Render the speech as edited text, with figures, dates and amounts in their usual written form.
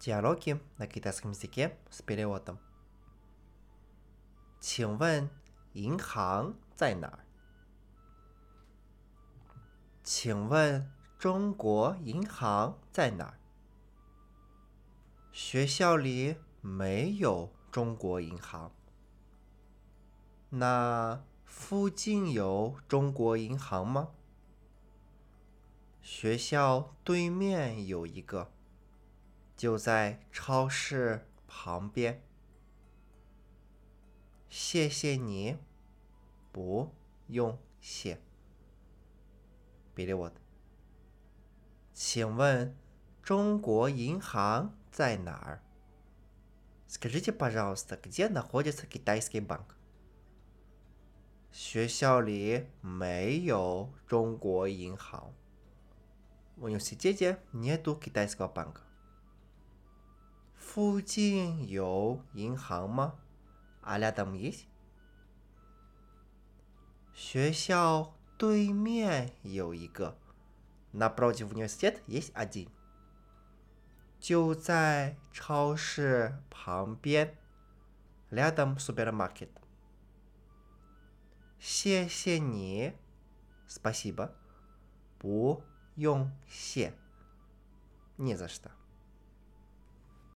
Диалоги на китайском языке с переводом. 请问银行在哪儿？请问中国银行在哪儿？学校里没有中国银行。那附近有中国银行吗？学校对面有一个，就在超市旁边。谢谢你，不用谢。Перевод. 请问中国银行在哪儿？ Скажите, пожалуйста, где находится китайский банк? 学校里没有中国银行。В университете нету китайского банка. 附近有银行吗？ А рядом есть? 学校对面有一个。Напротив университета есть один. 就在超市旁边。Рядом супермаркет. 谢谢你。Спасибо. 不用谢。Не за что.